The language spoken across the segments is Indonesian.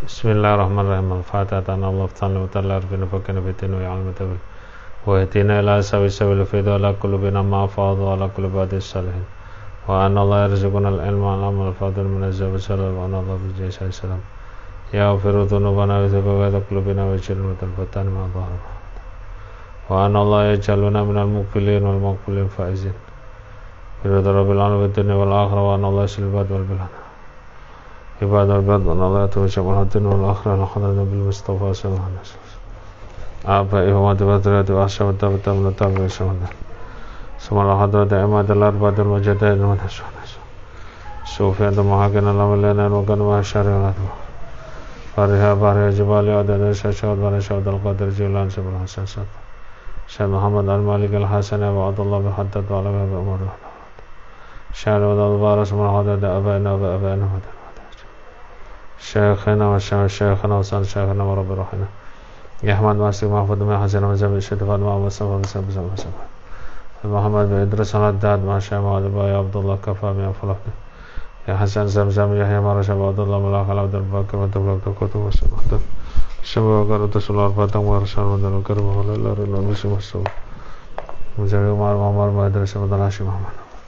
Bismillahirrahmanirrahim. Al-Fatihah. Allah ta'ala wa ta'ala arbina fakana bitina wa ya'alma tabil wa yatina ila sawi fidu ala kulubina ma'afadu ala kulubadi salihin wa anna Allah yarzuquna al-ilma al-amal al-fadil minazza wa salal wa anna Allah bijaysa salam ya afiru dhunubana wa zubagada kulubina wa jilmu talbatan ma'adhara wa anna Allah yajaluna minal mukbilin wal maqbulin faizin birudu rabbil alamin dunya wal akhirah wa anna Allah silbad wal bilana عباد البلد وأن الله يتوجب الدين والآخرة لحضر النبي المصطفى صلى الله عليه وسلم آبائه ومتبادرات وأحشى والتابة من التابع والسمدان ثم لحضرة عماد الأربعة المجدين والنسوان صوفية محاكنا لملينا وكان وحشاري والأدوى فارها بارها جبالي عدد الشاشات ونشهد القدر جيلان سبل الحساسات شيخ محمد المالك الحسن وعبد الله بحدد وعلمه بأمور شهر ودى البارس من حدد أبائنا وأبائنا شيخنا وشيخنا وصال شيخنا ورب روحنا يا أحمد واسق محفوظ من حسن وزبي الشتفات مع مصطفى بسبب محمد بن إدريس الداد مع شيخ محمد يا عبد الله كفى من فلقنا يا حسن زمزم يحيى مرشد عبد الله ملاك عبد الباقي وتبلغ تكتب وسبحان شبه قرأت سلار فتح ورسال ودل كرم ولا لا رلا بسم الله مجاوي مار مار ما إدريس عبد الله شيخ محمد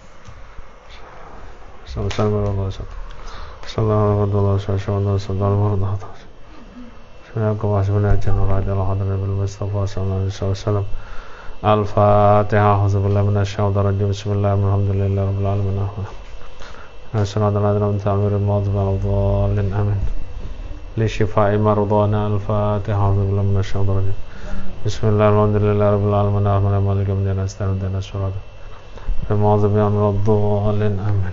سلام الله صلى الله عليه وسلم صلى الله عليه وسلم سناكم واسمنا جنة رضي الله عنه بالمصطفى صلى الله عليه وسلم الفاتحة أعوذ بالله من الشيطان الرجيم بسم الله الحمد لله رب العالمين الصلاة والسلام على تعمير الموت والضالين آمين لشفاء مرضانا الفاتحة أعوذ بالله من الشيطان الرجيم بسم الله الحمد لله رب العالمين الرحمن الرحيم مالك يوم الدين استعين اهدنا الصراط المستقيم من الضالين آمين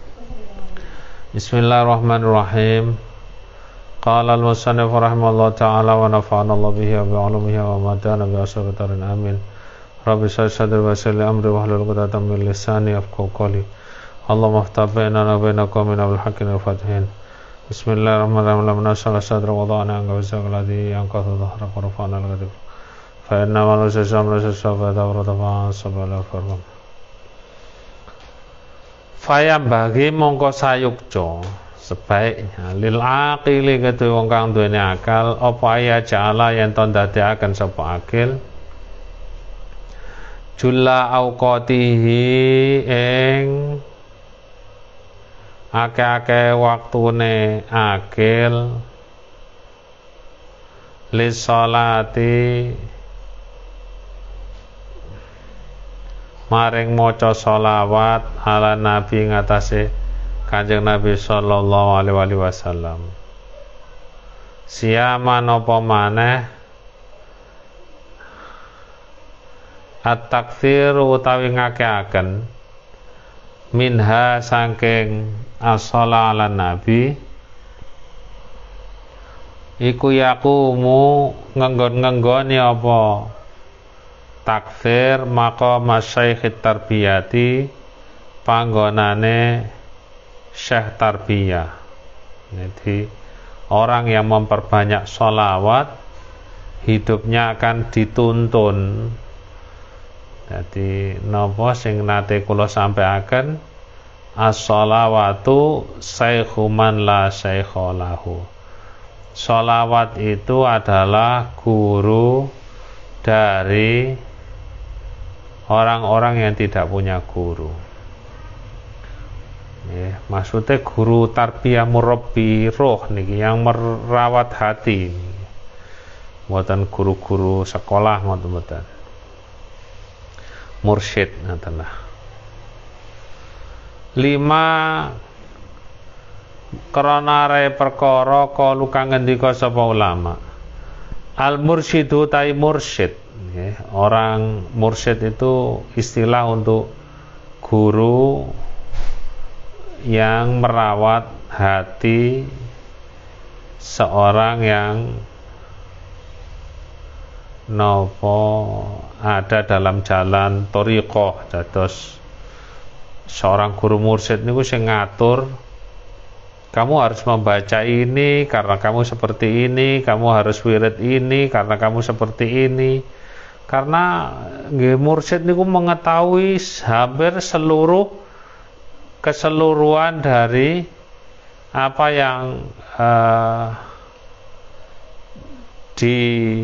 Bismillahirrahmanirrahim. Qala al-musannif rahimahullah ta'ala wa nafa'ana Allah bihi wa bi'ulumihi wa madana bi ashabitarin amin. Rabbi sadri wa salli amri wa hlul 'uqdatam min lisani yafqahu qawli. Allahumma iftah bainana wa baina qaumina bil haqqi wal fatihin. Bismillahirrahmanirrahim. Lamma nasala sadra wa wada'na anka wizaq alladhi yanqadhu dhahra wa rafa'na al-ghadab. Fa inna ma nusisa amra sasaba dawrata fa'asabala farham. Fayam bagi mongko sayukjo sebaiknya lil aqili kedue wong kang duweni akal apa ya ja'ala yen to ndadekaken sapa akil julla auqatihi ing akeh-akeh waktune akil lis sholati maring maca sholawat ala nabi ngatasé Kanjeng Nabi sallallahu alaihi wasallam siaman apa maneh at-takfir utawi ngakeaken minha saking as-shala ala nabi iku yakumu ngenggon-ngenggoni apa takfir maqam syaikh tarbiyati panggonane syekh tarbiyah. Jadi orang yang memperbanyak sholawat hidupnya akan dituntun. Jadi napa sing nate kula sampaikan as-sholawatu syaikhu man la syaikha lahu. Sholawat itu adalah guru dari orang-orang yang tidak punya guru. Ya, maksudnya guru tarbiyah murabbi roh niki yang merawat hati. Mboten guru-guru sekolah mboten. Mursyid ngoten lah. 5 krana re perkara kalu kang ngendika sapa ulama. Al mursyidu tai mursyid. Orang mursyid itu istilah untuk guru yang merawat hati seorang yang ada dalam jalan thariqah. Dados seorang guru mursyid niku sing ngatur kamu harus membaca ini karena kamu seperti ini, kamu harus wirid ini karena kamu seperti ini. Karena mursyid niku mengetahui hampir keseluruhan dari apa yang di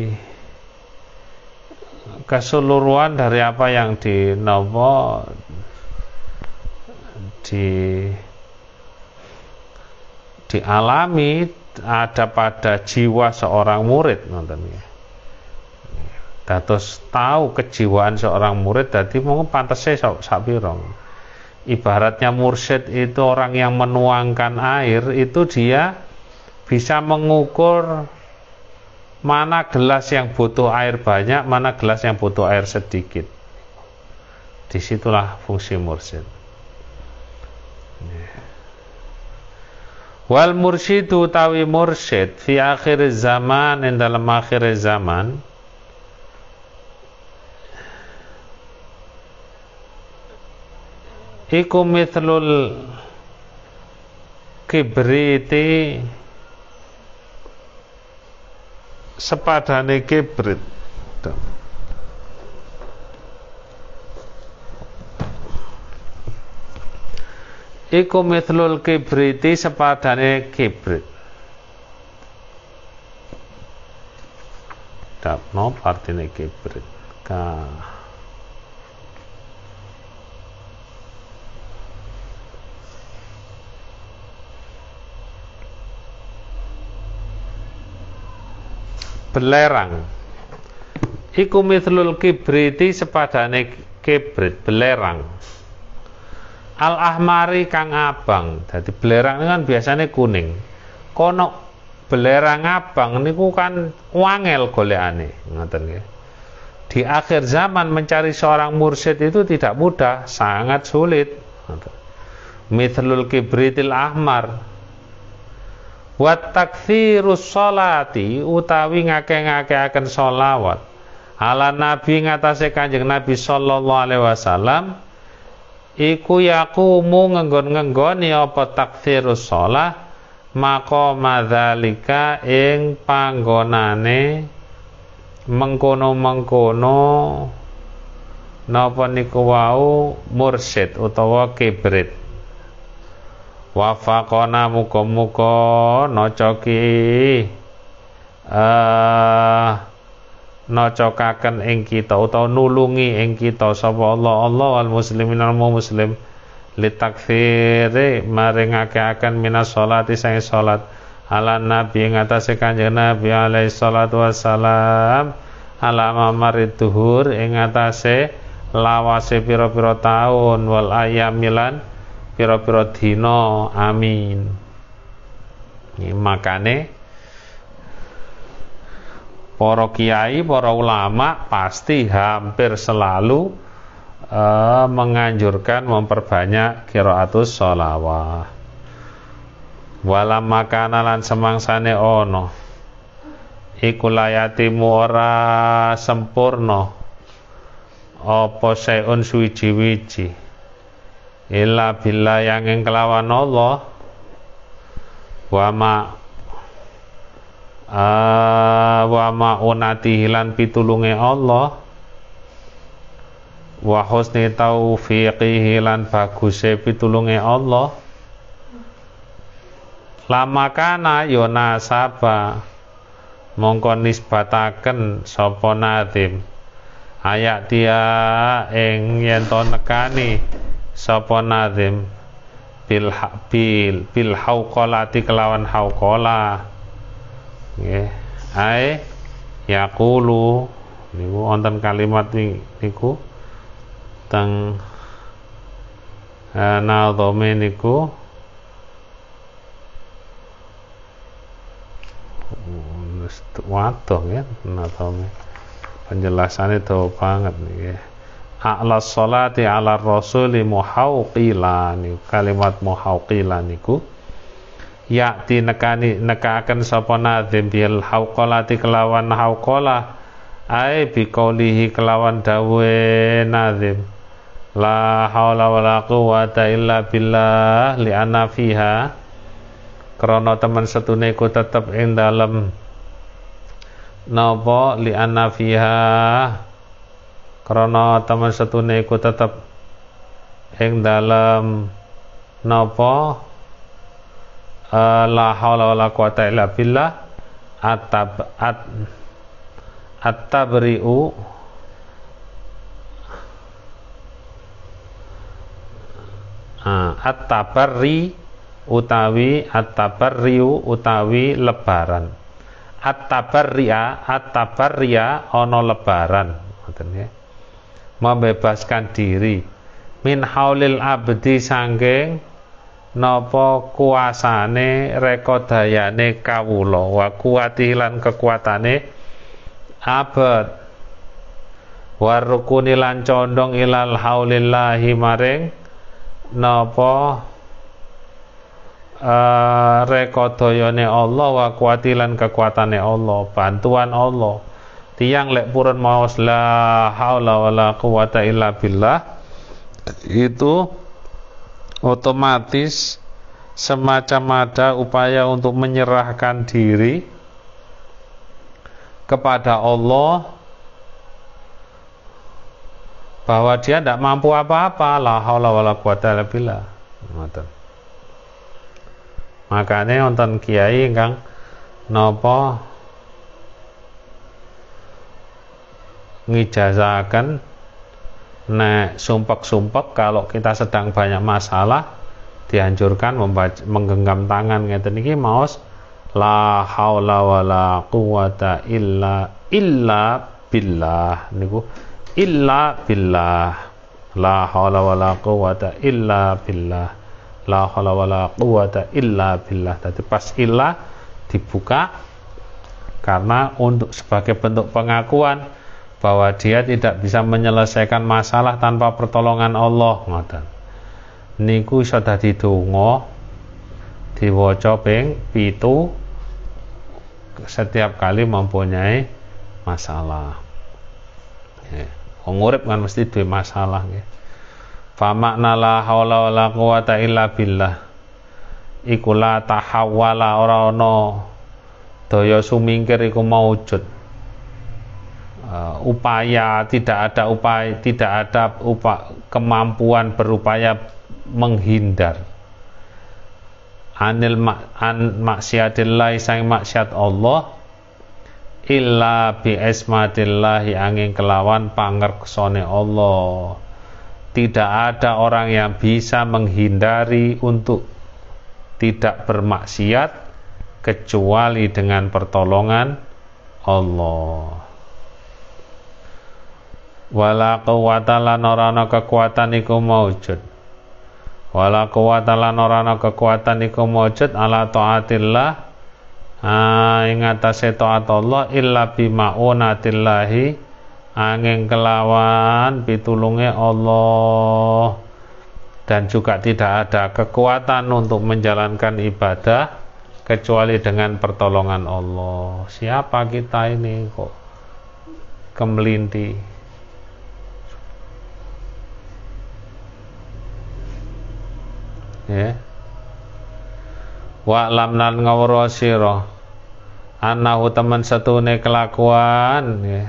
keseluruhan dari apa yang dialami ada pada jiwa seorang murid nonton ya. Dados tahu kejiwaan seorang murid dadi mung pantese sapira. Ibaratnya mursyid itu orang yang menuangkan air, itu dia bisa mengukur mana gelas yang butuh air banyak, mana gelas yang butuh air sedikit. Disitulah fungsi mursyid. Wal mursyidu tawi mursyid fi akhir zaman, in dalam akhir zaman, iku mithlul kibriti, sepadane kibrit. Iku mithlul kibriti, sepadane kibrit. Dapno partine kibrit. Belerang. Iku mithlul kibriti, sepadane kibrit, belerang. Al ahmari kang abang. Jadi belerang ini kan biasanya kuning. Kono belerang abang niku kan wangel golekane, ngoten nggih. Di akhir zaman mencari seorang mursyid itu tidak mudah, sangat sulit. Mithlul kibritil ahmar. Wa taktsirus sholati, utawi ngake-ngakeaken sholawat ala nabi, ngatasé Kanjeng Nabi sallallahu alaihi wasallam. Iku yakumu ngenggon-ngenggoni apa taktsirus shalah maqama dzalika, ing panggonane mengkono-mengkono napa niku wau mursyid utawa kibrit. Wafaqona, muga-muga nocoki nocokaken ing kita utawa nulungi ing kita sapa Allah wal muslimin al muslim litakfiri, maringaken minas sholati sang salat ala nabi ing atase Kanjeng Nabi alaihi salatu wassalam, ala mamarid duhur ing atase lawase pira-pira taun, wal ayamilan pira-pira dina, amin. Makane para kiai, para ulama pasti hampir selalu menganjurkan memperbanyak qiraatus sholawat. Walam makana lan semangsane ono iku layatimu ora sempurna apa sayun suwiji-wiji illa billah yang ing kelawan Allah, wa ma'unati hilan pitulunge Allah, wa husni taufiqihi lan baguse pitulunge Allah. Lama kana yona saba mongko nisbataken sapa nadim ayak dia ing yen to nekani sapa nadim bil hauqalati kelawan hauqala. Nggih, ae yaqulu niku wonten kalimat niku teng nadhame niku waduh ya, nadhame penjelasannya dawa banget nggih. A'la sholati ala rasuli muhauqila, niku kalimat muhauqila niku yakti nekaken sapa nadzim bil hauqalati kelawan hauqalah, ai biqaulihi kelawan dawe nadzim la haula wala quwata illa billah, li anna fiha krana temen setune iku tetep ing dalem napa, li anna fiha krana temen setune iku tetep ing dalem napa, la haula wala quwata illa billah, at-tabri'u at-tabarri utawi at-tabarriu utawi lebaran. At-tabarriya ana lebaran, ngoten nggih. Membebaskan diri min haulil abdi sangking napa kuasane rekodayane kawula wa kuwatilan kekuatane abad warukuni lan condong ilal haulillahi maring napa rekodayane Allah wa kuwatilan kekuatane Allah, bantuan Allah. Tiang lek purun maos la haula wala quwata illa billah, itu otomatis semacam ada upaya untuk menyerahkan diri kepada Allah, bahwa dia tidak mampu apa-apa. La haula wala quwata illa billah. Makanya wonten kiai ingkang napa ngijazahaken nek sumpek-sumpek kalau kita sedang banyak masalah dianjurkan menggenggam tangan ngeten iki maos la haula wala quwata illa billah niku illa billah, la haula wala quwata illa billah, la haula wala quwata illa billah. Tadi pas illa dibuka karena untuk sebagai bentuk pengakuan bahwa dia tidak bisa menyelesaikan masalah tanpa pertolongan Allah. Ngoten niku iso dadi donga diwaca ping 7 setiap kali mempunyai masalah. Wong urip kan mesti duwe masalah nggih. Fa makna la haula wala quwata illa billah iku la tahawwala, ora ana daya sumingkir iku maujud. Upaya tidak ada kemampuan berupaya menghindar anil maksiatillah sang maksiat Allah illa bi ismatillahi angin kelawan pangerksane Allah. Tidak ada orang yang bisa menghindari untuk tidak bermaksiat kecuali dengan pertolongan Allah. Wala quwata lan ora ana kekuatan iku maujud. Wala quwata lan ora ana kekuatan iku maujud ala taatillah ing atase taat Allah illa bi ma'unatillahi angin kelawan pitulunge Allah. Dan juga tidak ada kekuatan untuk menjalankan ibadah kecuali dengan pertolongan Allah. Siapa kita ini kok kemelinti? Ya. Wa lam lan ngawra sira annahu temen setune kelakuan ya.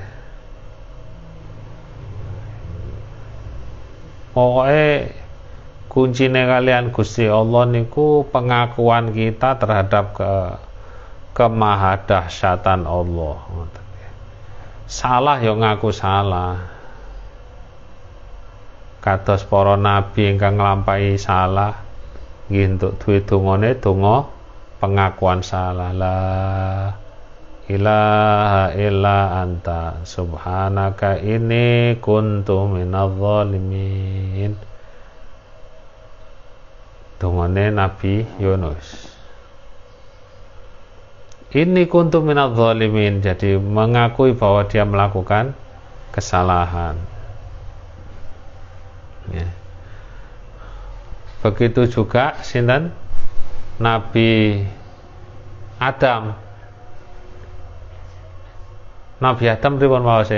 Pokoke kuncine kalian Gusti Allah niku pengakuan kita terhadap kemahadahsyatan Allah. Salah ya ngaku salah. Kados para nabi ingkang nglampahi salah nggih entuk duwe dongane donga pengakuan salah. La ilaha illa anta subhanaka inni kuntu minadz zalimin. Dongane Nabi Yunus. Inni kuntu minadz zalimin, jadi mengakui bahwa dia melakukan kesalahan. Ya. Begitu juga sinten Nabi Adam. Nabi Adam pripun mawase?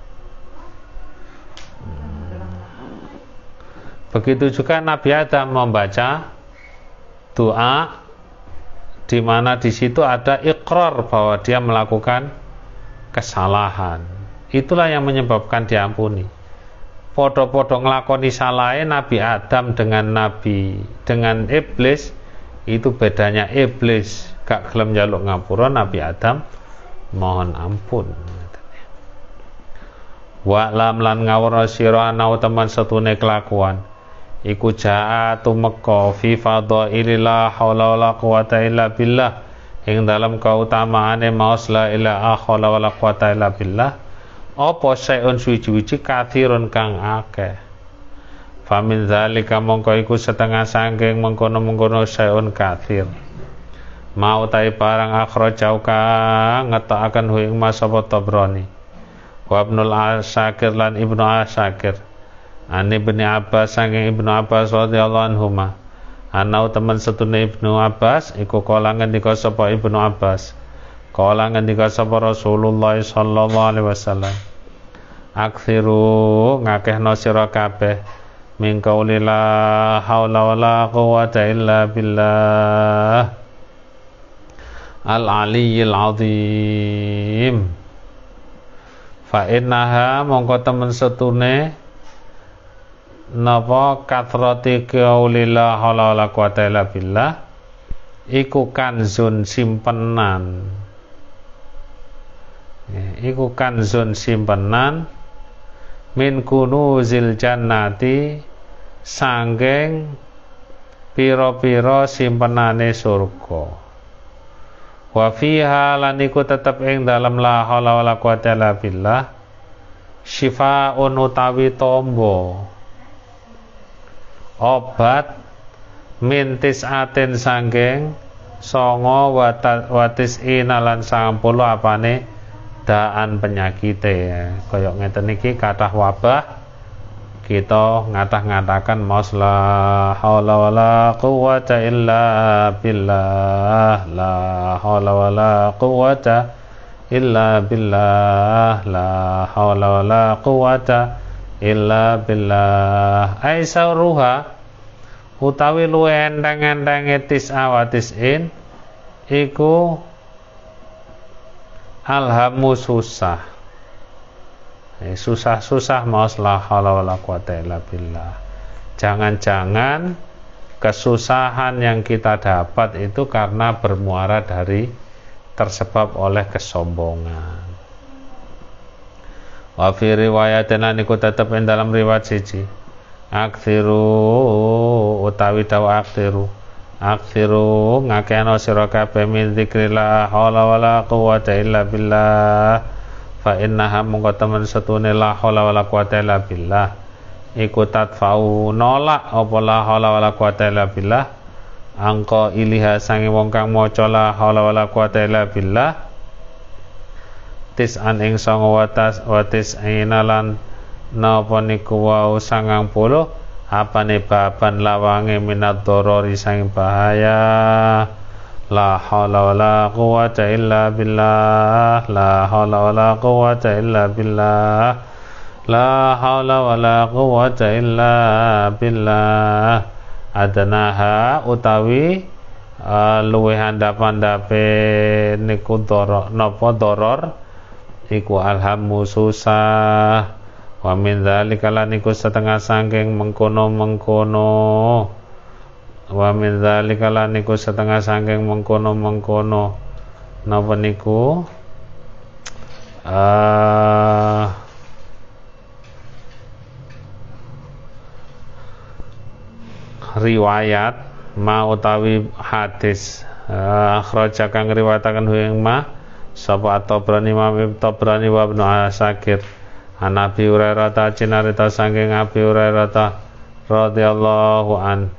Begitu juga Nabi Adam membaca doa di mana di situ ada ikrar bahwa dia melakukan kesalahan. Itulah yang menyebabkan diampuni. Podo-podo nglakoni salahe Nabi Adam dengan iblis, itu bedanya iblis gak gelem njaluk ngapura, Nabi Adam mohon ampun. Wa lam lan ngawurna sira ana teman setune kelakuan iku jaa tumeka fi fadhaili la haula wala quwata illa billah ing dalam kautamaane maos la ilaha haula wala quwata illa billah apa saeun suwi-wiji kathirun kang akeh. Famin zalika mongko iku setengah sangking mengkono-mengkono saeun kathir mau tai barang akhrajau kang ngetokaken hu ing Mas Tabrani wa Ibnul Asakir lan Ibnu Asakir Ani Ibnu Abbas saking Ibnu Abbas radhiyallahu anhuma ana temen setune Ibnu Abbas iku kala ngendika sapa Ibnu Abbas kala ngendika sapa Rasulullah sallallahu alaihi wasallam aksiru ngakehno sira kabeh min qauli la haula wala quwata illa billah al aliyyil azim fa innaha mongko temen setune napa kathrati qauli la haula wala quwata illa billah iku kanzun simpenan iku kanzun simpenan min kunuzil jannati sangking pira-pira simpenane surga wa fiha lan iku tetep ing dalam la haula wala quwata illa billah syifaun utawi tombo obat mintis aten sangking songo watis inalan 90 apane daan penyakite kaya ngeten iki kathah wabah kita ngatah-ngatakan maos la haula wala quwata illa billah la haula wala quwata illa billah la haula wala quwata illa billah aisaruha utawi luwe endang-endange tis'awatis'in iku alhamu susah susah-susah maos la haula wala quwata illa billah. Jangan-jangan kesusahan yang kita dapat itu karena bermuara dari tersebab oleh kesombongan. Wa fi riwayatin niku tetep ing dalam riwayat siji aksiru utawi dawa aksiru ngakeno sira kabeh min zikrillah haula wala quwata illa billah fa innaha mongko temen setune la haula wala quwata illa billah iku tadfa'u nolak apa la haula wala quwata illa billah angka iliha sange wong kang maca la haula wala quwata illa billah tis'an ing 9 watis inalan napa niku wau 90 apane baban lawange minad dorori sang bahaya la haula wala quwata illa billah la haula wala quwata illa billah la haula wala quwata illa billah adanaha utawi luwih handap-handape niku doror napa doror iku alhamu susah wa min dzalika lan iku setengah sangking mengkono-mengkono wa min dzalika lan iku setengah sangking mengkono-mengkono napa niku riwayat ma utawi hadis akhraja kang riwayataken ing ma sapa Tabrani Imam Tabrani wa Ibnu Asakir an Abi Hurairah ta cinarita saking Abi Hurairah ta radhiyallahu an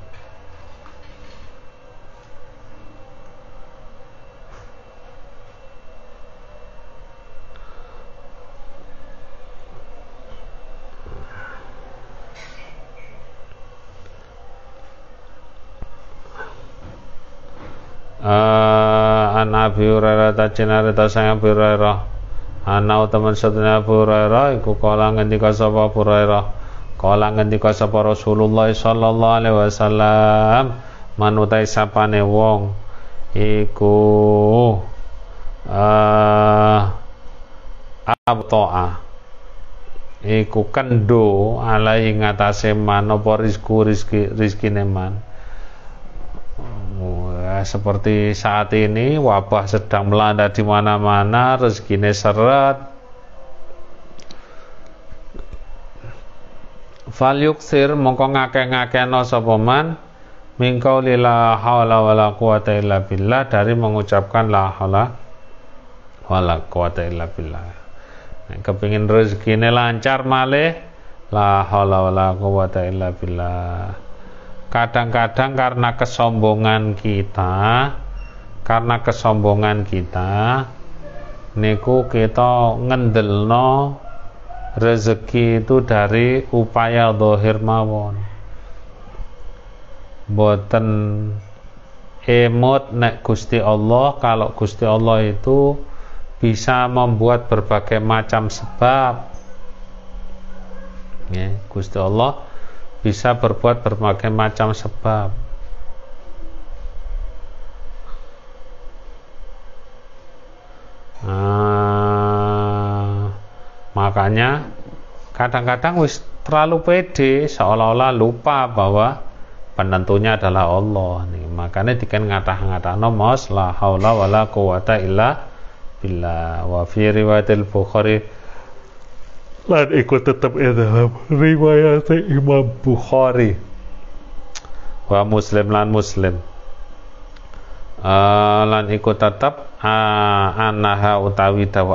an Abi Hurairah ta cinarita saking Abi Hurairah ana teman satune Abu Hurairah iku kala ngendika sapa Abu Hurairah kala ngendika sapa Rasulullah sallallahu alaihi wasallam manutai sapane wong iku abta'a iku kendo alai ngatasé man apa rizkine man seperti saat ini wabah sedang melanda di mana-mana, rezekinya seret. fal yuksir mongko ngakeh-ngakehno sapa man mingkau la haula wala quwata illa billah, dari mengucapkan la haula wala quwata illa billah. Kepingin rezekine lancar malih la haula wala quwata illa billah. Kadang-kadang karena kesombongan kita niku kita ngendelno rezeki itu dari upaya zahir mawon, boten emot nek Gusti Allah. Kalau Gusti Allah itu bisa membuat berbagai macam sebab, ya, Gusti Allah bisa berbuat berbagai macam sebab. Makanya kadang-kadang wis terlalu pede, seolah-olah lupa bahwa penentunya adalah Allah nih. Makanya diken ngatah-ngatahno mos la haula wala quwata illa billah. Wa fi riwayatil Bukhari, lan ikut tetap dalam riwayat Imam Bukhari wa Muslim lan Muslim, lan ikut tetap annaha utawi dawa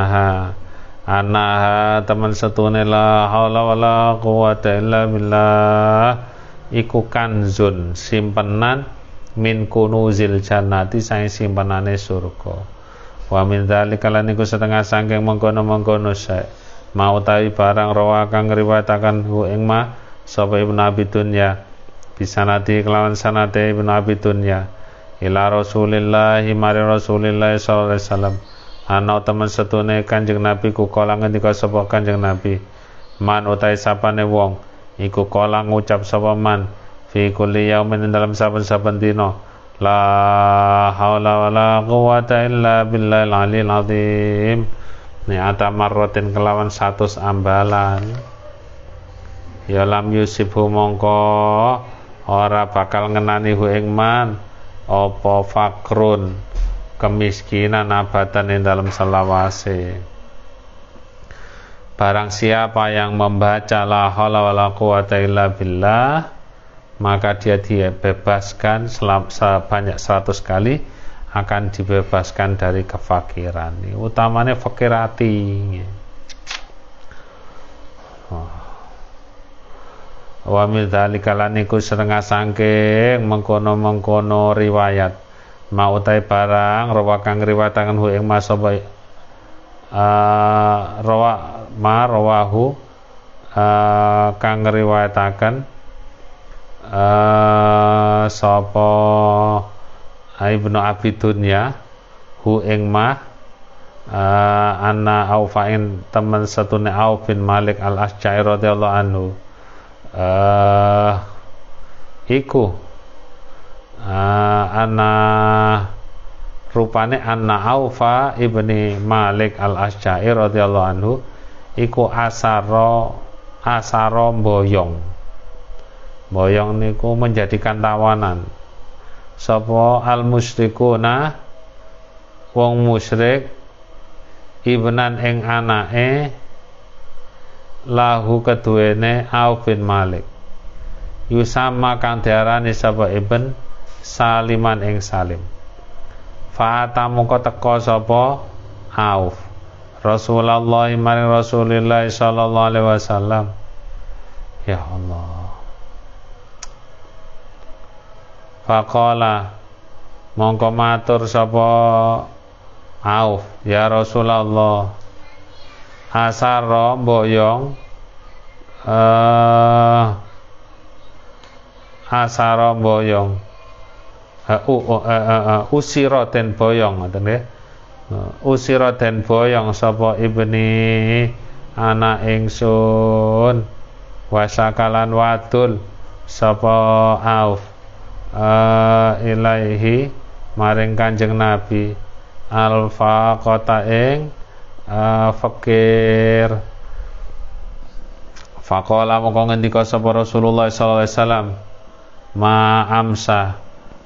annaha teman setune la haula wala quwata illa billah iku kanzun, simpenan min kunuzil jannati, saing simpenane surga. Wa min dzalika lan iku setengah saking mengkono-mengkono sae mau tawi barang rawa kang riwayataken hu ing ma sapa Ibnu Abi Dunya bisanati kelawan sanate Ibnu Abi Dunya ila Rasulillah mari Rasulillah sallallahu alaihi wasallam ana temen setune Kanjeng Nabi ku kala ngendika sapa Kanjeng Nabi man utahe sapane wong iku kala ngucap sapa man fi kulli yaumin dalam saben-saben dina la haula wala quwata illa billahil aliyil azim ni atamarrotin kelawan 100 ambalan ya lam yusibhu mongko ora bakal ngenani hu ing man apa fakrun kemiskinan abatan ing dalam selawase. Barang siapa yang membaca la haula wala quwata illa billah, maka dia dibebaskan sebanyak 100 kali, akan dibebaskan dari kefakiran. Utamanya fakir hati. Wa min dzalika lan iku setengah sangking mengkono-mengkono riwayat mau utai barang rawa kang riwayataken hu ing masaba rawahu kang riwayataken sapa Ibnu Abi Dunya hu ing ma anna Aufain teman satune Auf bin Malik al-Asja'i radhiyallahu anhu iku anna rupane anna Aufa ibni Malik al-Asja'i radhiyallahu anhu iku asaro boyong niku menjadikan tawanan sapa al-musyrikuna wong musyrik ibnan ing anake lahu keduwene Auf bin Malik yusama kang diarani sapa ibn Saliman ing Salim. Fa'ata moko teka sapa Auf Rasulullah maring Rasulillah sallallahu alaihi wasallam. Ya Allah. Faqala mongko matur sapa Auf, ya Rasulullah asara boyong asara boyong usira den boyong ngoten nggih. Usira den boyong sapa ibni anak ingsun wasakalan wadul sapa Auf ilaihi maring Kanjeng Nabi al-faqata ing fakir. Faqala mongko ngendika sapa Rasulullah sallallahu alaihi wasallam ma amsa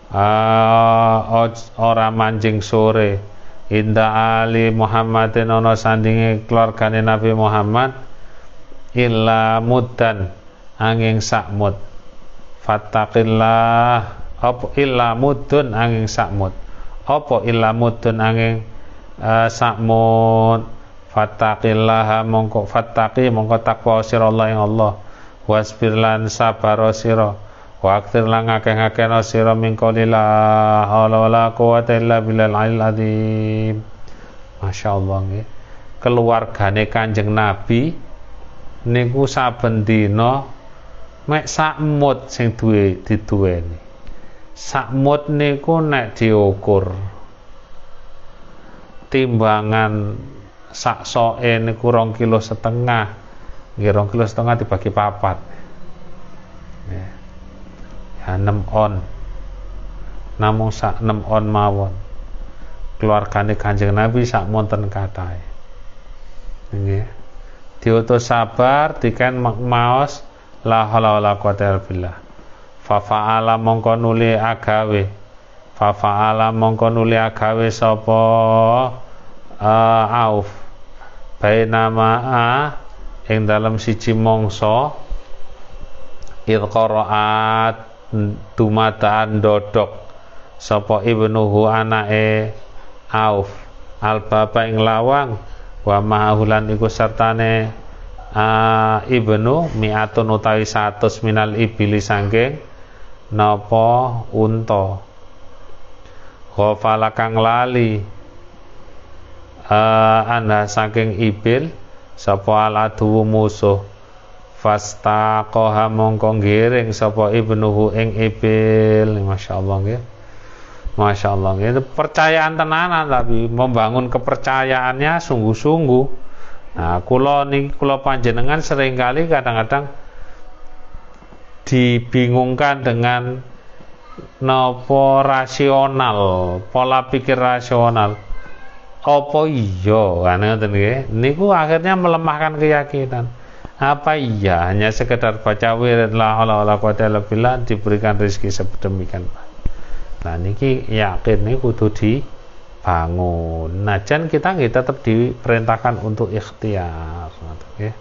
ora manjing sore inda ali Muhammadin ana sandinge keluargane Nabi Muhammad illa muddan angin sakmut. Fattaqillah apa illa mudun angin sakmut. Apa illa mudun angin sakmut. Fattaqillah mongko takwa sira Allah ing Allah. Wasbir lan sabar sira. Wa aktir lan ngakeh-ngakehna sira min qoulillah wala quwwata illa billahil aliyil azim. Masyaallah nggih. Keluargane Kanjeng Nabi niku saben dina mek sakmut sing diduweni. Sakmut niku nek diukur timbangan sak soke niku 2,5 kilo. Nggih 2,5 kilo dibagi 4. Ya 6 on. Namung sak 6 on mawon. Keluargane Kanjeng Nabi sak monten kathahe. Nggih. Diutus sabar diken maos la haula wala quwata illa billah. Fa fa'ala mongko nuli agawe. Fa fa'ala mongko nuli agawe sapa Auf. Bainama ing dalam siji mangsa id qaraat dumadaan dodok sapa ibnuhu anake Auf al-baba ing lawang wa ma'ahulan iku sertane ibnu mi'atun utawi 100 minal ibili sangking napa unta ghafala kang lali anda saking ibil sapa aladu musuh fastaqaha mongko ngiring sapa ibnuhu ing ibil. Masyaallah nggih. Masyaallah nggih. Itu percayaan tenanan tapi membangun kepercayaannya sungguh-sungguh. Nah, kula panjenengan seringkali kadang-kadang dibingungkan dengan napa rasional, pola pikir rasional. Apa iya ngoten nggih. Niku akhirnya melemahkan keyakinan. Apa iya hanya sekedar baca wirid la haula wala quwata illa billah diberikan rezeki sedemikian. Nah niki yakin niku kudu dibangun. Najan kita nggih tetap diperintahkan untuk ikhtiar nggih.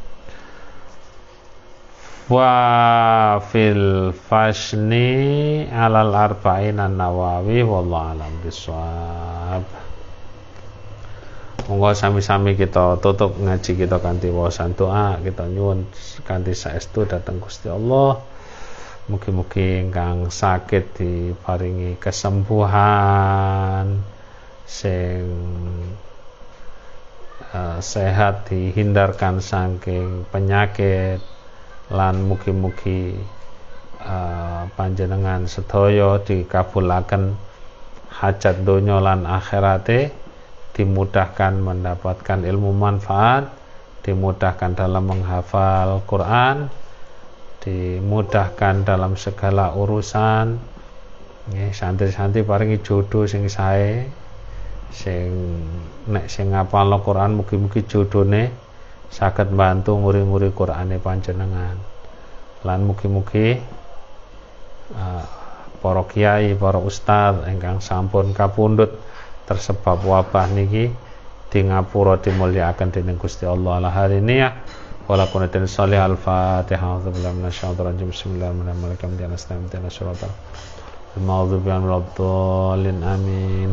Wa fil fashni alal arba'in an-nawawi wallahu alam bisawab. Monggo sami-sami kita tutup ngaji kita kanthi wawasan doa, kita nyuwun kanthi saestu dhateng Gusti Allah. Mugi-mugi ingkang sakit diparingi kesembuhan, sing sehat dihindarkan saking penyakit, lan mugi-mugi panjenengan sedaya dikabulaken hajat donya lan akhirate, dimudahkan mendapatkan ilmu manfaat, dimudahkan dalam menghafal Quran, dimudahkan dalam segala urusan. Nggih, santri-santri paringi jodoh sing sae, sing nek sing ngapalno Quran mugi-mugi jodone saged bantu nguri-nguri Qurane panjenengan. Lan mugi-mugi para kiai, para ustaz ingkang sampun kapundhut tersebab wabah niki di ngapura dimulyakaken dening Gusti Allah ala hariniyah wala kunatin sholih al-fatihah auzubillahi minasyaitonir rajim bismillahirrahmanirrahim amin.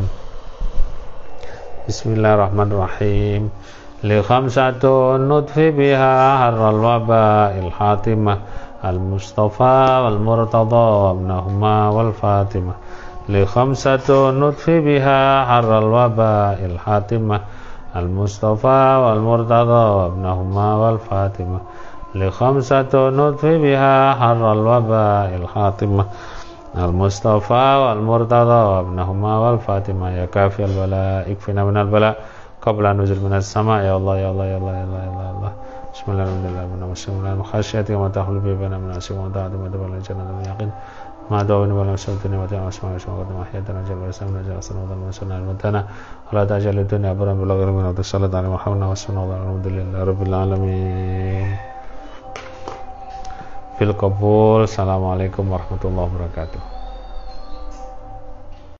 Bismillahirrahmanirrahim. Li khamsatun nutfi biha harral waba'il hatimah al-mustafa wal murtada ibnahuma wal fatimah. Li khamsatun nutfi biha harral waba'il hatimah al-mustafa wal murtada ibnahuma wal fatimah. Li khamsatun nutfi biha harral waba'il hatimah al-mustafa wal murtada ibnahuma wal fatimah. Ya kafiyal bala ikfina minal bala qabla nuzul minas sama. Ya Allah ya Allah ya Allah ya Allah ya Allah. Bismillahirrahmanirrahim. Bismillahirrahmanirrahim. Khasyati wa tahul bi bana min asim wa ta'ati wa tabal jannah yaqin. Ma da'awni wa la sultani wa ta'ala asma'a wa mahyatana jalla samna jalla sanna wa sunna al-mutana ala ta'jal dunya abran bil ghayri min sallallahu alaihi Muhammad wa sallallahu alhamdulillahi rabbil alamin. Fil qabul. Assalamualaikum warahmatullahi wabarakatuh.